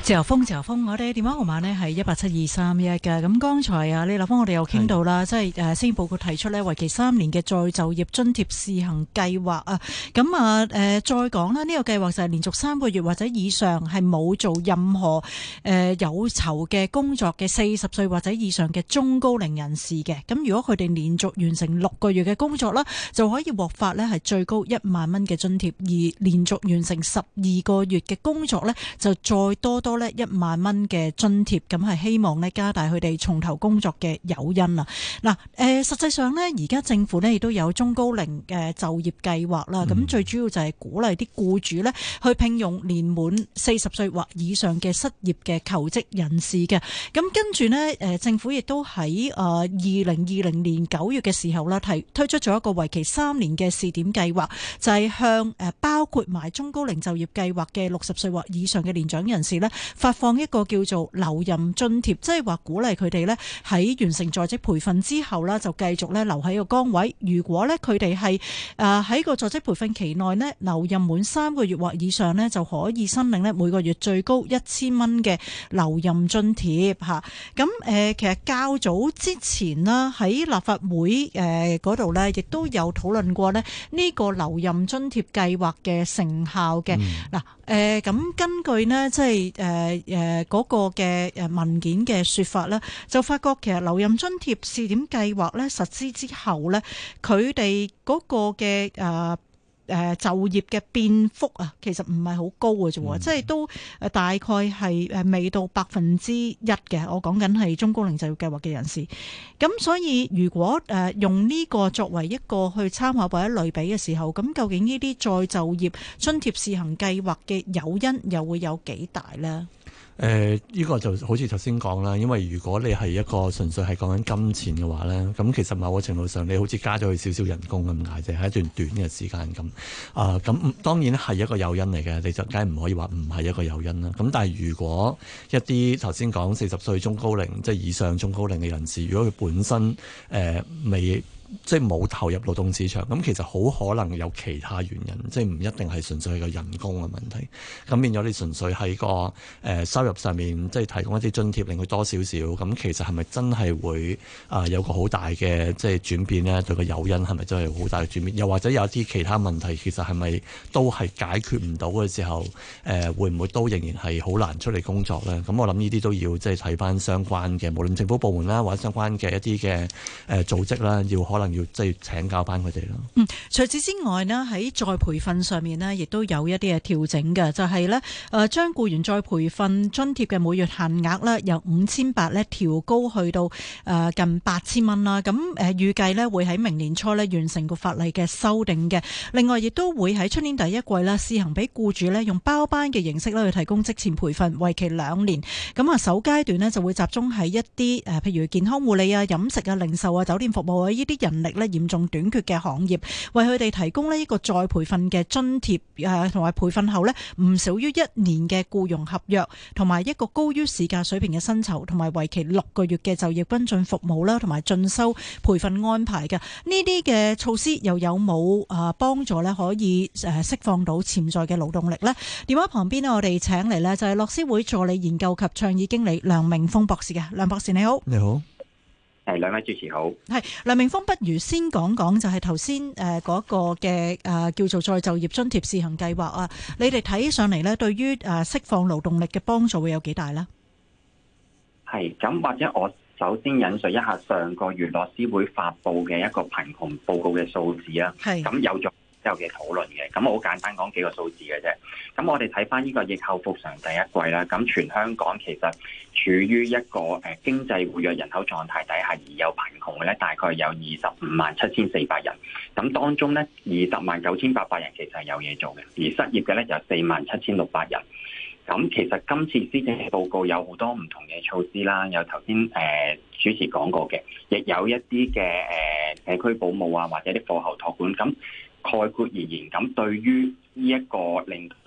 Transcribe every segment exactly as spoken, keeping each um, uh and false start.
自由風，自由風，我哋電話號碼呢係一八七二三一嘅。咁剛才啊，李立峰，我哋又傾到啦，即係誒，施政報告提出呢，為期三年嘅再就業津貼試行計劃啊。咁啊，誒，再講啦，呢個計劃就係連續三個月或者以上係冇做任何誒有酬嘅工作嘅四十歲或者以上嘅中高齡人士嘅。咁如果佢哋連續完成六個月嘅工作啦，就可以獲發呢係最高一萬蚊嘅津貼，而連續完成十二個月嘅工作呢，就再多多呢一萬蚊嘅津貼，咁係希望呢加大佢哋重投工作嘅誘因啊！嗱，誒，實際上呢，而家政府呢亦都有中高齡嘅就業計劃啦。咁、嗯、最主要就係鼓勵啲僱主呢去聘用年滿四十歲或以上嘅失業嘅求職人士嘅。咁跟住呢，誒，政府亦都喺誒二零二零年九月嘅時候啦，提推出咗一個為期三年嘅試點計劃，就係、是、向誒包括埋中高齡就業計劃嘅六十歲或以上嘅年長人士呢，發放一個叫做留任津貼，即係話鼓勵佢哋呢喺完成在職培訓之後呢，就繼續呢留喺個崗位。如果呢佢哋係誒喺個在職培訓期內呢留任滿三個月或以上呢，就可以申領呢每個月最高一千蚊嘅留任津貼嚇。咁誒其實較早之前啦，喺立法會誒嗰度呢，亦都有討論過呢呢個留任津貼計劃嘅成效嘅。嗱、嗯，誒咁、呃、根據呢，即係誒誒嗰個嘅誒文件嘅說法咧，就發覺其實留任津貼試點計劃咧實施之後咧，佢哋嗰個嘅誒誒就業嘅變幅啊，其實唔係好高嘅啫，嗯、即係都誒大概係誒未到百分之一嘅。我講緊係中高齡就業計劃嘅人士。咁所以如果誒用呢個作為一個去參考或者類比嘅時候，咁究竟呢啲再就業津貼試行計劃嘅誘因又會有幾大咧？ 誒、呃，呢、這個就好似頭先講啦，因為如果你係一個純粹係講緊金錢嘅話咧，咁其實某個程度上你好似加咗佢少少人工咁解啫，係一段短嘅時間咁。啊、呃，咁當然係一個誘因嚟嘅，你就梗係唔可以話唔係一個誘因啦。咁但係如果一啲頭先講四十歲中高齡即係以上中高齡嘅人士，如果佢本身誒、呃、未即係冇投入勞動市場，咁其實好可能有其他原因，即係唔一定係純粹係個人工嘅問題。咁變咗你純粹喺個誒、呃、收入上面，即係提供一啲津貼，令佢多少少，咁其實係咪真係會啊、呃、有個好大嘅即係轉變呢？對個誘因係咪真係好大嘅轉變？又或者有啲其他問題，其實係咪都係解決唔到嘅時候，誒、呃、會唔會都仍然係好難出嚟工作咧？咁我諗呢啲都要即係睇翻相關嘅，無論政府部門啦，或者相關嘅一啲嘅誒組織啦，要可能要即係請教翻佢哋咯。 嗯，除此之外呢，喺再培訓上面呢，亦都有一啲嘅調整嘅，就係呢誒將僱員再培訓津貼嘅每月限額呢，由五千八呢調高去到誒近八千蚊啦。咁誒預計呢會喺明年初呢完成個法例嘅修訂嘅。另外亦都會喺出年第一季呢試行俾僱主呢用包班嘅形式呢去提供職前培訓，為期兩年。咁啊首階段呢就會集中喺一啲誒譬如健康護理啊、飲食啊、零售啊、酒店服務啊呢啲人力呢嚴重短缺嘅行業，為佢哋提供呢一個再培訓嘅津貼誒，同埋培訓後呢唔少於一年嘅僱傭合約，同埋一個高於市價水平嘅薪酬，同埋為期六個月嘅就業跟進服務啦，同埋進修培訓安排嘅。呢啲嘅措施又有冇誒幫助呢？可以誒釋放到潛在嘅勞動力呢？電話旁邊呢，我哋請嚟呢就係樂施會助理研究及倡議經理梁明豐博士嘅。梁博士你好。 你好。 係，兩位主持好。 係梁明豐，不如先講講就係頭先誒嗰個嘅誒、呃、叫做再就業津貼試行計劃啊，你哋睇上嚟咧，對於誒釋放勞動力嘅幫助會有幾大咧？ 係咁，或者我首先引述一下上個月樂施會發布嘅一個貧窮報告嘅數字啊。係咁有咗之後嘅討論嘅，咁我好簡單講幾個數字嘅啫。咁我哋睇翻呢個疫後復常第一季啦，咁全香港其實處於一個誒經濟活躍人口狀態底下而有貧窮嘅咧，大概有二十五萬七千四百人。咁當中咧，二十萬九千八百人其實係有嘢做嘅，而失業嘅咧就四萬七千六百人。咁其實今次施政報告有好多唔同嘅措施啦，有頭先誒主持講過嘅，亦有一啲嘅誒社區保姆啊，或者啲課後託管。咁概括而言，咁對於呢一個令持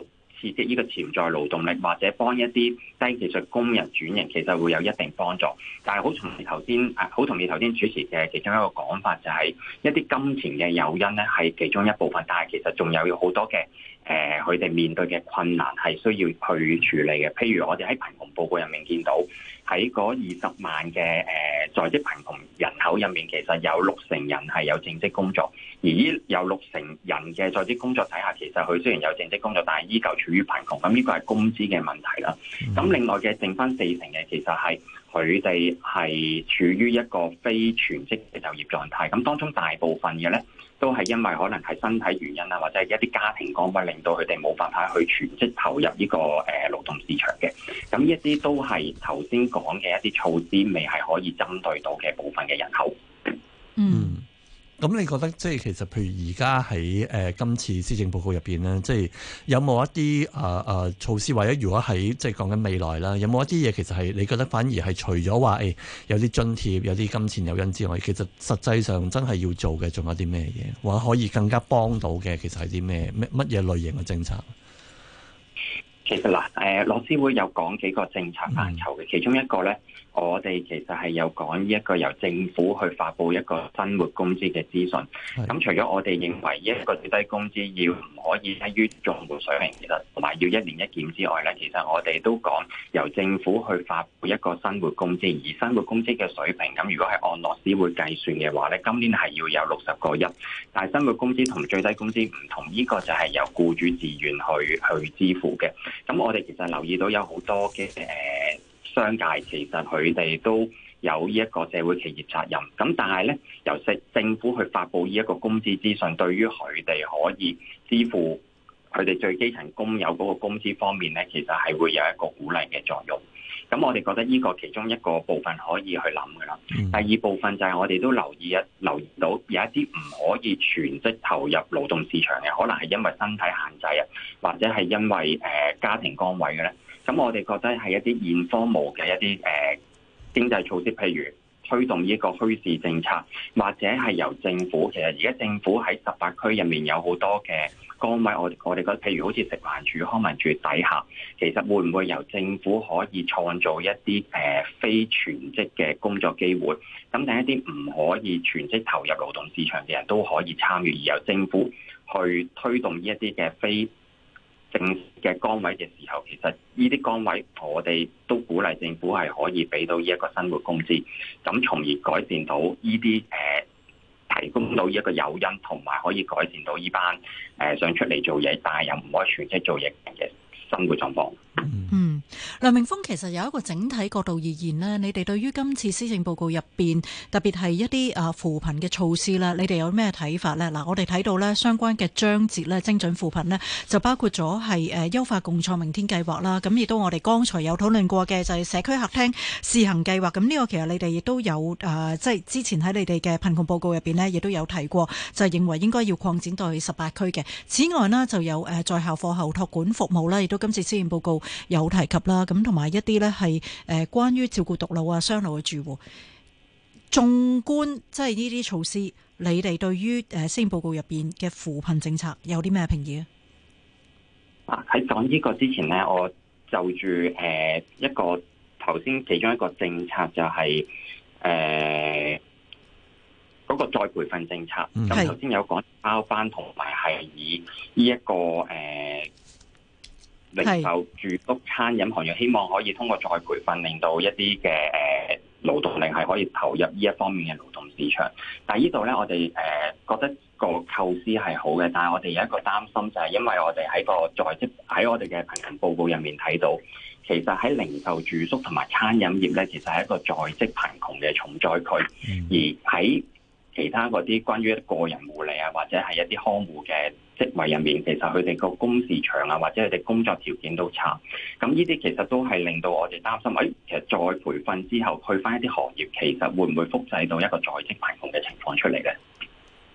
刺激呢個潛在勞動力，或者幫一啲低技術工人轉型，其實會有一定幫助。但係好同意頭先，好同意頭先主持嘅其中一個講法，就係一啲金錢嘅誘因咧係其中一部分，但係其實仲有好多嘅誒佢哋面對嘅困難係需要去處理嘅。譬如我哋喺貧窮報告入面見到，喺嗰二十萬嘅誒在職貧窮人口入面，其實有六成人係有正職工作，而呢有六成人嘅在職工作底下，其實佢雖然有正職工作，但係依舊處於貧窮。咁呢個係工資嘅問題啦。咁另外嘅剩翻四成嘅，其實係佢哋係處於一個非全職嘅就業狀態。咁當中大部分嘅咧，都係因為可能係身體原因啦，或者係一啲家庭崗位令到佢哋冇辦法去全職投入呢個誒勞動市場嘅。咁呢一啲都係頭先講嘅一啲措施未係可以針對到嘅部分嘅人口。 嗯。咁你覺得即係其實譬如而家喺誒今次施政報告入邊咧，即係有冇一啲誒誒措施，或者如果喺即係講緊未來啦，有冇一啲嘢其實係你覺得反而係除咗話誒有啲津貼、有啲金錢誘因之外，其實實際上真係要做嘅仲有啲咩嘢，或者可以更加幫到嘅，其實係啲咩咩乜嘢類型嘅政策？ 其實嗱，誒樂施會有講幾個政策範疇嘅，其中一個咧，我哋其實係有講呢一個由政府去發布一個生活工資嘅資訊。咁除咗我哋認為一個最低工資要唔可以低於綜援水平，其實同埋要一年一檢之外咧，其實我哋都講由政府去發布一個生活工資，而生活工資嘅水平，咁如果係按樂施會計算嘅話咧，今年係要有六十個一。但係生活工資同最低工資唔同，呢個就係由僱主自願去去支付嘅。咁我哋其實留意到有好多嘅誒商界，其實佢哋都有呢一個社會企業責任。咁但係咧，由政政府去發布呢一個工資資訊，對於佢哋可以支付佢哋最基層工友嗰個工資方面咧，其實係會有一個鼓勵嘅作用。咁我哋覺得呢個其中一個部分可以去諗㗎啦。嗯、第二部分就係我哋都留意一留意到有一啲唔可以全職投入勞動市場嘅，可能係因為身體限制啊，或者係因為誒、呃、家庭崗位嘅咧。咁我哋覺得係一啲現科務嘅一啲誒、呃、經濟措施，譬如推動呢個墟市政策，或者係由政府。其實而家政府喺十八區入面有好多嘅崗位，我我哋覺得譬如好似食環署、康文署底下，其實會唔會由政府可以創造一啲誒、呃、非全職嘅工作機會？咁等一啲唔可以全職投入勞動市場嘅人都可以參與，而由政府去推動呢一啲嘅非正嘅崗位嘅時候，其實呢啲崗位我哋都鼓勵政府係可以俾到呢一個生活工資，咁從而改善到呢啲誒提供到呢一個誘因，同埋可以改善到呢班誒、呃、想出嚟做嘢但係又唔可以全職做嘢嘅生活狀況。 嗯，梁明峰，其實有一個整體角度而言呢，你哋對於今次施政報告入邊，特別係一啲啊扶貧嘅措施啦，你哋有咩睇法呢？嗱，我哋睇到呢相關嘅章節呢，精準扶貧呢，就包括咗係誒優化共創明天計劃啦。咁亦都我哋剛才有討論過嘅就係社區客廳試行計劃。咁呢個其實你哋亦都有誒，即係之前喺你哋嘅貧窮報告入邊呢，亦都有提過，就係認為應該要擴展到去十八區嘅。此外呢，就有誒在校課後託管服務啦，亦都今次施政報告有提及啦，咁同埋一啲咧係誒關於照顧獨老啊、雙老嘅住戶。縱觀即係呢啲措施，你哋對於誒施政報告入邊嘅扶貧政策有啲咩評議啊？ 喺講呢個之前咧，我就住誒一個頭先其中一個政策就係誒嗰個再培訓政策。咁頭先有講包班同埋係以呢、這、一個誒。呃零售、住屋、餐飲行業，希望可以通過再培訓，令到一啲嘅誒勞動力係可以投入呢一方面嘅勞動市場。但係呢度咧，我哋誒覺得個構思係好嘅，但係我哋有一個擔心，就係因為我哋喺個在職喺我哋嘅貧窮報告入面睇到，其實喺零售、住宿同埋餐飲業咧，其實係一個在職貧窮嘅重災區，嗯、而喺其他嗰啲關於個人護理啊，或者係一啲看護嘅職位入面，其實佢哋個工時長啊，或者佢哋工作條件都差。咁呢啲其實都係令到我哋擔心，誒、哎，其實再培訓之後去翻一啲行業，其實會唔會複製到一個在職貧窮嘅情況出嚟咧？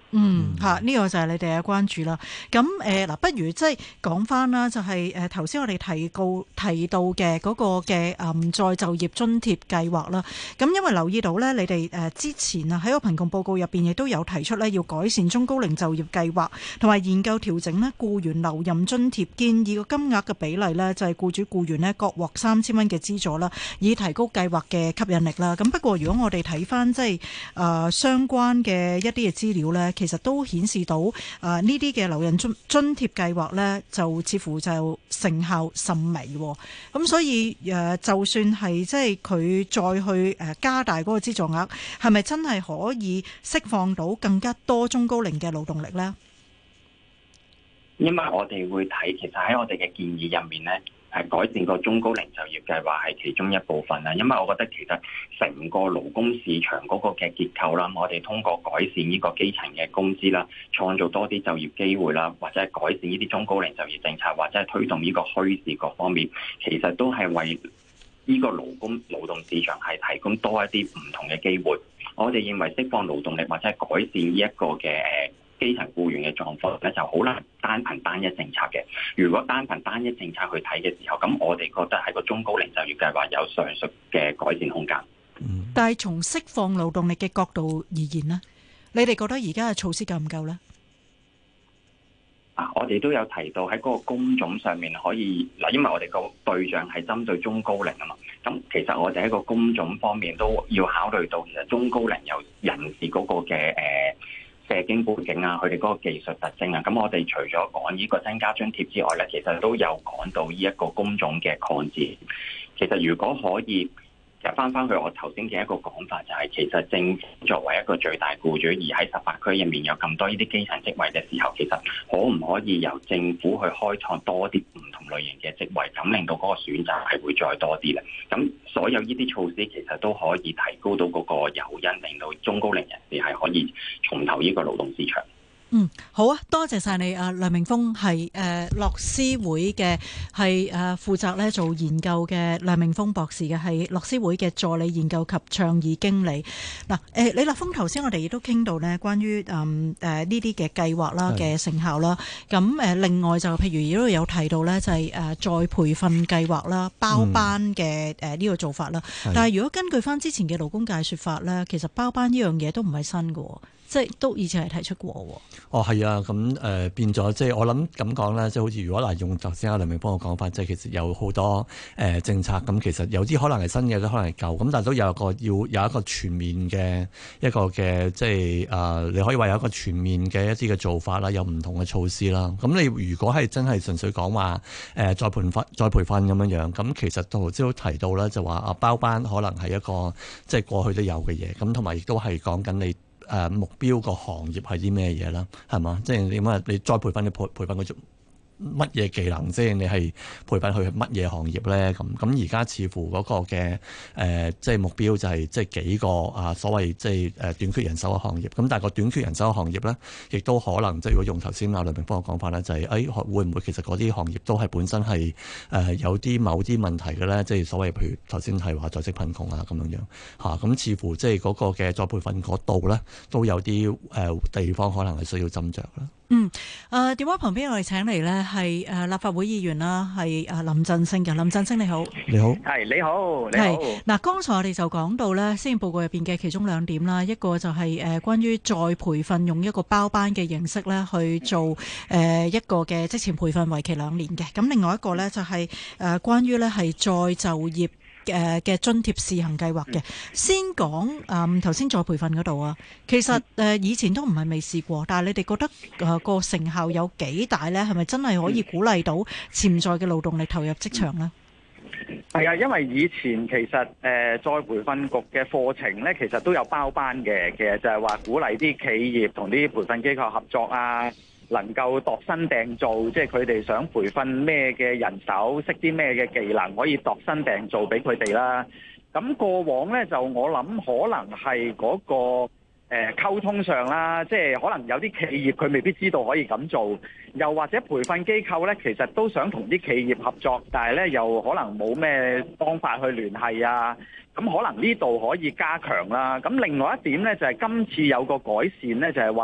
嗯，嚇、嗯，呢、這個就係你哋嘅關注啦。咁誒嗱，不如即係講翻啦，就係誒頭先我哋提告提到嘅嗰個嘅誒、嗯、再就業津貼計劃啦。咁因為留意到咧，你哋誒之前啊喺個貧窮報告入邊亦都有提出咧，要改善中高齡就業計劃，同埋研究調整咧僱員留任津貼，建議個金額嘅比例咧就係僱主僱員咧各獲三千蚊嘅資助啦，以提高計劃嘅吸引力啦。咁不過如果我哋睇翻即係誒、呃、相關嘅一啲嘅資料咧，其實都顯示到誒呢啲嘅留任津津貼計劃呢，就似乎就成效甚微。咁所以誒、呃，就算係即係佢再去誒加大嗰個資助額，係咪真係可以釋放到更加多中高齡嘅勞動力呢？ 因為我哋會睇，其實喺我哋嘅建議入面呢，係改善個中高齡就業計劃係其中一部分啦。因為我覺得其實成個勞工市場嗰個嘅結構啦，我哋通過改善呢個基層嘅工資啦，創造多啲就業機會啦，或者係改善呢啲中高齡就業政策，或者係推動呢個墟市各方面，其實都係為呢個勞工勞動市場係提供多一啲唔同嘅機會。我哋認為釋放勞動力或者係改善呢一個嘅基層僱員嘅狀況咧，就好難單憑單一政策嘅。如果單憑單一政策去睇嘅時候，咁我哋覺得喺個中高齡就業計劃有上述嘅改善空間。 嗯、但係從釋放勞動力嘅角度而言呢，你哋覺得而家嘅措施夠唔夠呢？ 啊，我哋都有提到喺嗰個工種上面可以嗱，因為我哋個對象係針對中高齡啊嘛。咁其實我哋喺個工種方面都要考慮到，其實中高齡有人士嗰個嘅誒。呃社經背景啊，佢哋嗰個技術特徵啊，咁我哋除咗講呢個增加津貼之外咧，其實都有講到呢一個工種嘅擴展。其實如果可以入翻翻去我頭先嘅一個講法，就係其實政府作為一個最大僱主，而喺十八區入面有咁多呢啲基層職位嘅時候，其實可唔可以由政府去開創多啲唔同類型嘅職位，咁令到嗰個選擇係會再多啲咧？咁所有呢啲措施其實都可以提高到嗰個誘因，令到中高齡人士係可以重投呢個勞動市場。 嗯，好啊，多謝晒你啊，梁明豐係誒樂施會嘅係誒負責咧做研究嘅梁明豐博士嘅係樂施會嘅助理研究及倡議經理。嗱、呃、誒李立峰頭先我哋亦都傾到咧關於誒誒呢啲嘅計劃啦嘅成效啦。咁誒、呃、另外就譬如亦都有提到咧就係、是、誒、呃、再培訓計劃啦、包班嘅誒呢個做法啦。嗯、但係如果根據翻之前嘅勞工界說法咧，其實包班呢樣嘢都唔係新嘅。即係都以前係提出過喎。 哦，係啊，咁誒、呃、變咗，即係我諗咁講啦，即係好似如果嗱用頭先阿梁明邦嘅講法，即係其實有好多誒、呃、政策，咁其實有啲可能係新嘅，都可能係舊，咁但係都有一個要有一個全面嘅一個嘅，即係誒、呃、你可以話有一個全面嘅一啲嘅做法啦，有唔同嘅措施啦。咁你如果係真係純粹講話誒再培訓再培訓咁樣樣，咁其實頭先都提到啦，就話啊包班可能係一個即係過去都有嘅嘢，咁同埋亦都係講緊你。誒目標個行業係啲咩嘢啦？係嘛？即係點啊？你再培訓你培培訓佢做乜嘢技能先？你係培訓佢乜嘢行業咧？咁咁而家似乎嗰個嘅誒、呃，即係目標就係即係幾個啊所謂即係誒短缺人手嘅行業。咁但係個短缺人手嘅行業咧，亦都可能即係如果用頭先阿梁明邦嘅講法咧，就係、是、誒、哎、會唔會其實嗰啲行業都係本身係誒、呃、有啲某啲問題嘅咧？即係所謂譬如頭先係話在職貧窮啊咁樣樣嚇。咁、啊、似乎即係嗰個嘅再培訓嗰度咧，都有啲誒、呃、地方可能係需要斟酌啦。 嗯，誒、呃、電話旁邊我哋請嚟呢係誒立法會議員啦，係誒林振昇嘅。林振昇你好， 你好， 係你好，你好。 係嗱，剛才我哋就講到呢施政報告入邊嘅其中兩點啦，一個就係誒關於再培訓用一個包班嘅形式呢去做誒一個嘅職前培訓，為期兩年嘅。咁另外一個呢，就係誒關於呢係再就業誒嘅津貼試行計劃嘅。先講誒頭先再培訓嗰度啊，其實誒以前都唔係未試過，但係你哋覺得誒個成效有幾大咧？係咪真係可以鼓勵到潛在嘅勞動力投入職場咧？ 係啊，因為以前其實誒、呃、再培訓局嘅課程咧，其實都有包班嘅，其實就係話鼓勵啲企業同啲培訓機構合作啊。能夠度身訂造，即係佢哋想培訓咩嘅人手，識啲咩嘅技能，可以度身訂造俾佢哋啦。咁過往呢，就我諗可能係嗰、那個誒、呃、溝通上啦，即係可能有啲企業佢未必知道可以咁做，又或者培訓機構呢，其實都想同啲企業合作，但係呢又可能冇咩方法去聯繫啊。咁可能呢度可以加強啦。咁另外一點呢，就係、是、今次有個改善呢，就係、是、話。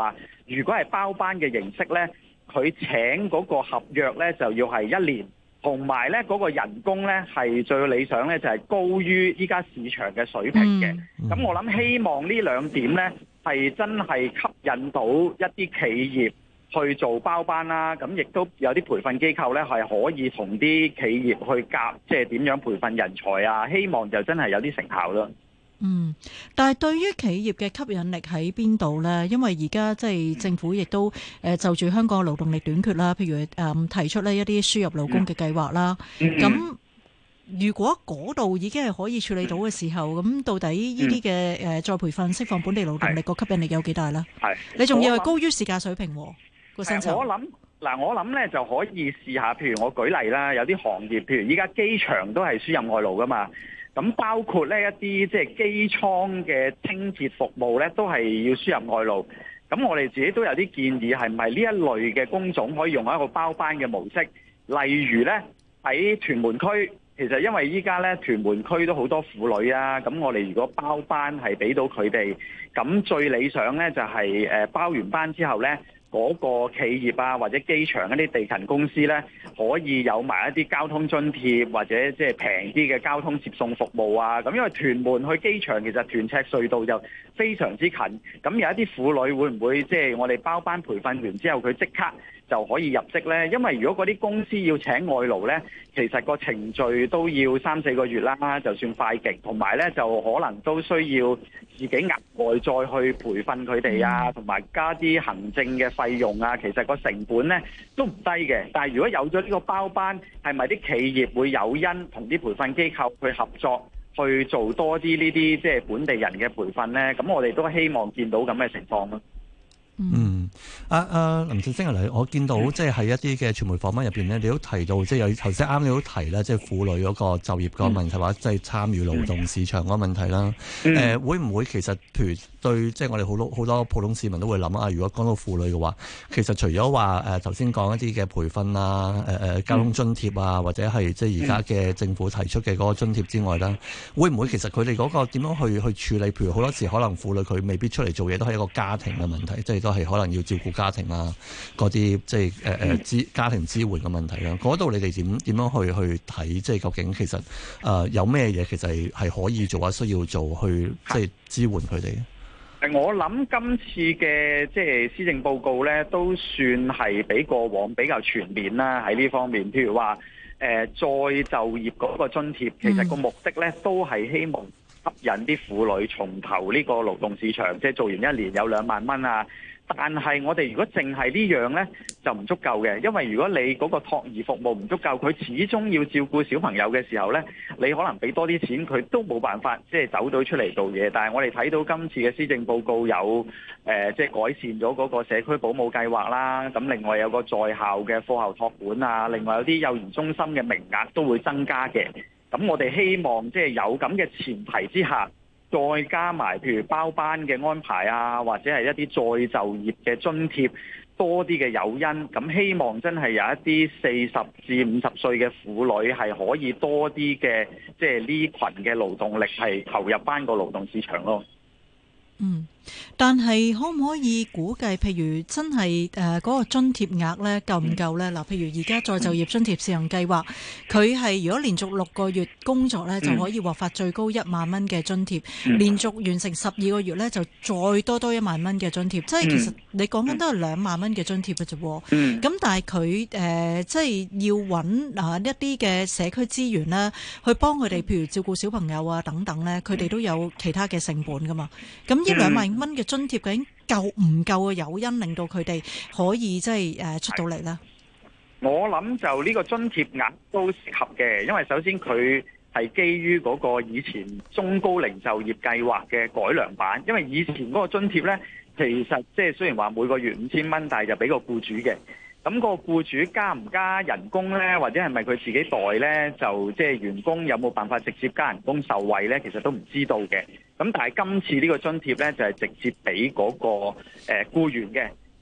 如果係包班嘅形式咧，佢請嗰個合約咧就要係一年，同埋咧嗰個人工咧係最理想咧就係高於依家市場嘅水平嘅。咁、嗯、我諗希望呢兩點咧係真係吸引到一啲企業去做包班啦。咁亦都有啲培訓機構咧係可以同啲企業去夾，即係點樣培訓人才啊。希望就真係有啲成效咯。 嗯，但係對於企業嘅吸引力喺邊度呢？因為而家即係政府亦都誒就住香港嘅勞動力短缺啦，譬如誒提出呢一啲輸入勞工嘅計劃啦。咁、嗯、如果嗰度已經係可以處理到嘅時候，咁、嗯、到底呢啲嘅誒再培訓釋放本地勞動力個吸引力有幾大呢？係你仲要係高於市價水平個薪酬。我諗嗱，我諗咧就可以試下，譬如我舉例啦，有啲行業，譬如依家機場都係輸入外勞噶嘛。咁包括呢一啲即係機艙嘅清潔服務咧，都係要輸入外勞。咁我哋自己都有啲建議，係唔係呢一類嘅工種可以用一個包班嘅模式？例如咧喺屯門區，其實因為依家咧屯門區都好多婦女啊，咁我哋如果包班係俾到佢哋，咁最理想咧就係誒包完班之後咧，嗰個企業啊，或者機場一啲地勤公司咧，可以有埋一啲交通津貼，或者即係平啲嘅交通接送服務啊。咁因為屯門去機場其實屯赤隧道就非常之近，咁有一啲婦女會唔會即係我哋包班培訓完之後佢即刻就可以入職呢？因為如果嗰啲公司要請外勞呢，其實個程序都要三四個月啦，就算快極，同埋呢就可能都需要自己額外再去培訓佢哋啊，同埋加啲行政嘅費用啊，其實個成本呢都唔低嘅。但係如果有咗呢個包班，係咪啲企業會有因同啲培訓機構去合作，去做多啲呢啲即係本地人嘅培訓呢？咁我哋都希望見到咁嘅情況咯。 嗯，阿、啊、阿、啊、林振昇啊，我見到即係喺一啲嘅傳媒訪問入邊咧，你都提到即係有頭先啱你都提啦，即係婦女嗰個就業個問題，或者即係參與勞動市場嗰個問題啦。誒、呃，會唔會其實譬如對即係我哋好多好多普通市民都會諗啊？如果講到婦女嘅話，其實除咗話誒頭先講一啲嘅培訓啊、誒、呃、誒交通津貼啊，或者係即係而家嘅政府提出嘅嗰個津貼之外啦，會唔會其實佢哋嗰個點樣去去處理？譬如好多時可能婦女佢未必出嚟做嘢，都係一個家庭嘅問題，即係都係可能要照顧家庭啊，嗰啲即係誒誒支家庭支援嘅問題啦。嗰度你哋點點樣去去睇？即係究竟其實誒、呃、有咩嘢其實係係可以做啊，需要做去即係支援佢哋？ 誒，我諗今次嘅即係施政報告咧，都算係比過往比較全面啦。喺呢方面，譬如話誒、呃、再就業嗰個津貼，其實個目的咧都係希望吸引啲婦女重投呢個勞動市場，即係做完一年有兩萬蚊啊。但係我哋如果淨係呢樣呢，就唔足夠嘅，因為如果你嗰個托兒服務唔足夠，佢始終要照顧小朋友嘅時候呢，你可能俾多啲錢佢都冇辦法即係走到出嚟做嘢。但係我哋睇到今次嘅施政報告有誒即係改善咗嗰個社區保姆計劃啦，咁另外有個在校嘅課後託管啊，另外有啲幼兒中心嘅名額都會增加嘅。咁我哋希望即係有咁嘅前提之下，再加埋譬如包班嘅安排啊，或者係一啲再就業嘅津貼，多啲嘅誘因，咁希望真係有一啲四十至五十歲嘅婦女係可以多啲嘅，即係呢群嘅勞動力係投入翻個勞動市場咯。 嗯，但係可唔可以估計，譬如真係誒嗰個津貼額咧夠唔夠咧？嗱，譬如而家再就業津貼試行計劃，佢係如果連續六個月工作咧，就可以獲發最高一萬蚊嘅津貼；嗯、連續完成十二個月咧，就再多多一萬蚊嘅津貼。即係其實你講緊都係兩萬蚊嘅津貼嘅啫。咁、嗯、但係佢誒即係要揾啊一啲嘅社區資源啦，去幫佢哋，譬如照顧小朋友啊等等咧，佢哋都有其他嘅成本噶嘛。咁呢兩萬蚊嘅津貼究竟夠唔夠嘅誘因，令到佢哋可以即係誒出到嚟咧？ 我諗就呢個津貼額都適合嘅，因為首先佢係基於嗰個以前中高齡就業計劃嘅改良版，因為以前嗰個津貼咧，其實即係雖然話每個月五千蚊，但係就俾個僱主嘅。咁個僱主加唔加人工呢？或者係咪佢自己代呢？就即係員工有冇辦法直接加人工受惠呢？其實都唔知道嘅。咁但係今次呢個津貼呢，就係直接俾嗰個誒僱員嘅。咁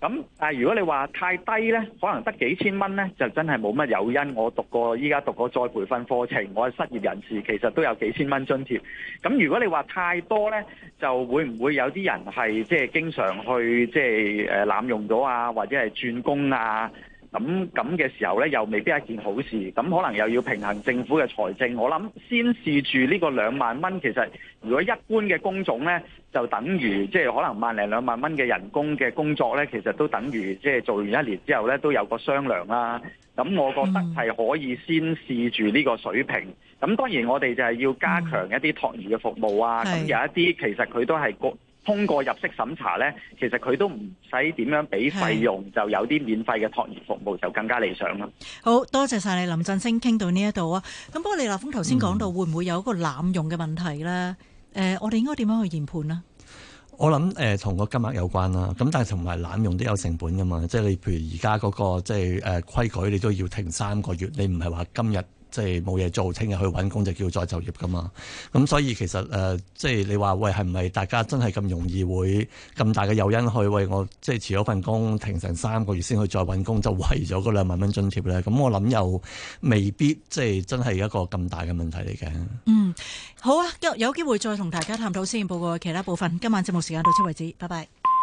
咁但係如果你話太低咧，可能得幾千蚊咧，就真係冇乜誘因。我讀過依家讀過再培訓課程，我係失業人士，其實都有幾千蚊津貼。咁如果你話太多咧，就會唔會有啲人係即係經常去即係誒濫用咗啊，或者係轉工啊？咁咁嘅時候咧，又未必係一件好事。咁可能又要平衡政府嘅財政。我諗先試住呢個兩萬蚊，其實如果一般嘅工種咧，就等於即係可能萬零兩萬蚊嘅人工嘅工作咧，其實都等於即係做完一年之後咧都有個商量啦。咁我覺得係可以先試住呢個水平。咁當然我哋就係要加強一啲託兒嘅服務啊。咁有一啲其實佢都係個。通過入息審查咧，其實佢都唔使點樣俾費用，就有啲免費嘅託兒服務就更加理想啦。 好多謝晒你，林振昇，傾到呢一度啊。咁不過李立峰頭先講到會唔會有一個濫用嘅問題咧？誒、嗯呃，我哋應該點樣去研判呢？ 我諗誒同個金額有關啦，咁但係同埋濫用都有成本噶嘛。即係你譬如而家嗰個即係誒規矩，你都要停三個月，你唔係話今日。即係冇嘢做，聽日去揾工就叫再就業噶嘛。咁所以其實誒、呃，即係你話喂，係唔係大家真係咁容易會咁大嘅誘因去喂我即係辭咗份工，停成三個月先去再揾工，就為咗嗰兩萬蚊津貼咧？咁我諗又未必即係真係一個咁大嘅問題嚟嘅。 嗯，好啊，有機會再同大家探討施政報告嘅其他部分。今晚節目時間到此為止，拜拜。